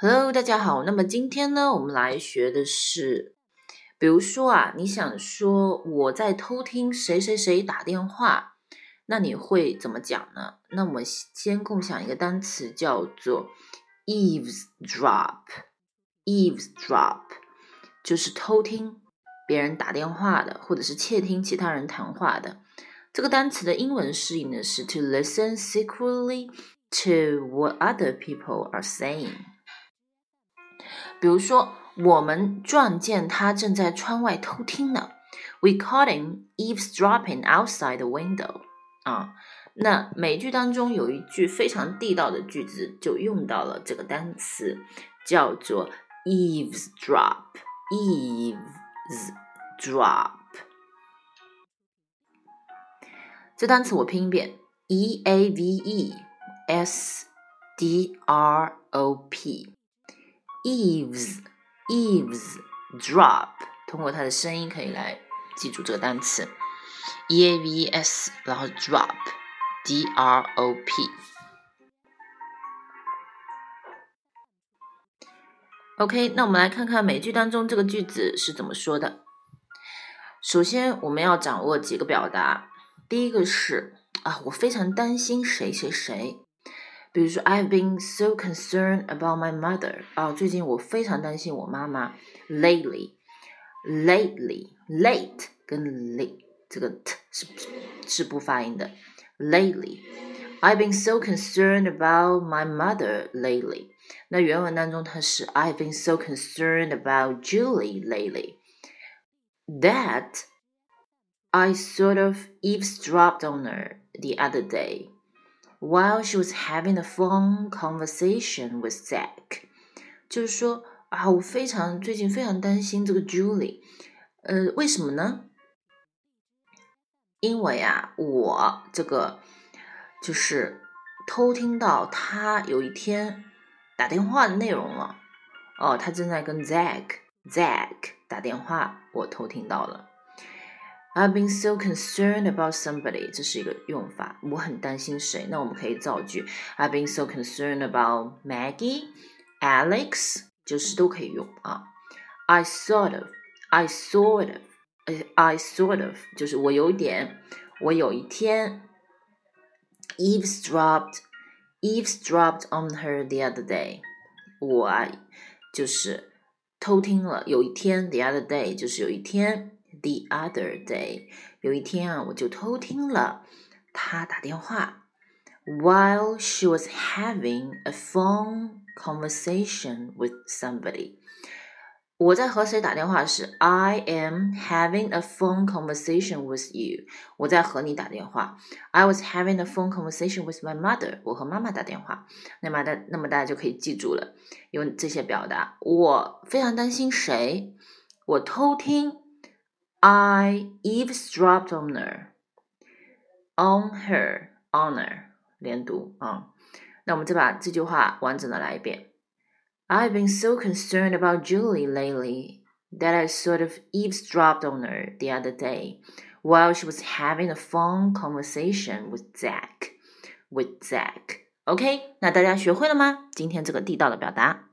Hello，大家好。那么今天呢，我们来学的是，比如说啊，你想说我在偷听谁谁谁打电话，那你会怎么讲呢？那我们先共享一个单词，叫做 eavesdrop。eavesdrop 就是偷听别人打电话的，或者是窃听其他人谈话的。这个单词的英文释义呢是 to listen secretly to what other people are saying。比如说，我们撞见他正在窗外偷听呢。We caught him eavesdropping outside the window。那美剧当中有一句非常地道的句子，就用到了这个单词，叫做 eavesdrop。这单词我拼一遍 eavesdrop。通过它的声音可以来记住这个单词 eaves， 然后 drop drop。 OK， 那我们来看看美剧当中这个句子是怎么说的。首先我们要掌握几个表达，第一个是我非常担心谁谁谁，比如说 I've been so concerned about my mother。最近我非常担心我妈妈。Lately late 跟 late 这个 t 是不发音的。Lately I've been so concerned about my mother lately。那原文当中它是 I've been so concerned about Julie lately that I sort of eavesdropped on her the other day while she was having a phone conversation with Zach。 就是说我最近非常担心这个 Julie。 为什么呢？因为我这个就是偷听到他有一天打电话的内容了。他正在跟 Zach 打电话，我偷听到了。I've been so concerned about somebody， 这是一个用法，我很担心谁，那我们可以造句 I've been so concerned about Maggie Alex， 就是都可以用I sort of 就是我有一天 eavesdropped on her the other day， 我就是偷听了，有一天 the other day 就是有一天The other day， 有一天我就偷听了她打电话 While she was having a phone conversation with somebody。 我在和谁打电话是 I am having a phone conversation with you， 我在和你打电话。 I was having a phone conversation with my mother， 我和妈妈打电话。那么大家就可以记住了，用这些表达。我非常担心谁？我偷听I eavesdropped on her 连读那我们再把这句话完整的来一遍。 I've been so concerned about Julie lately that I sort of eavesdropped on her the other day while she was having a phone conversation with Zach。 OK， 那大家学会了吗？今天这个地道的表达。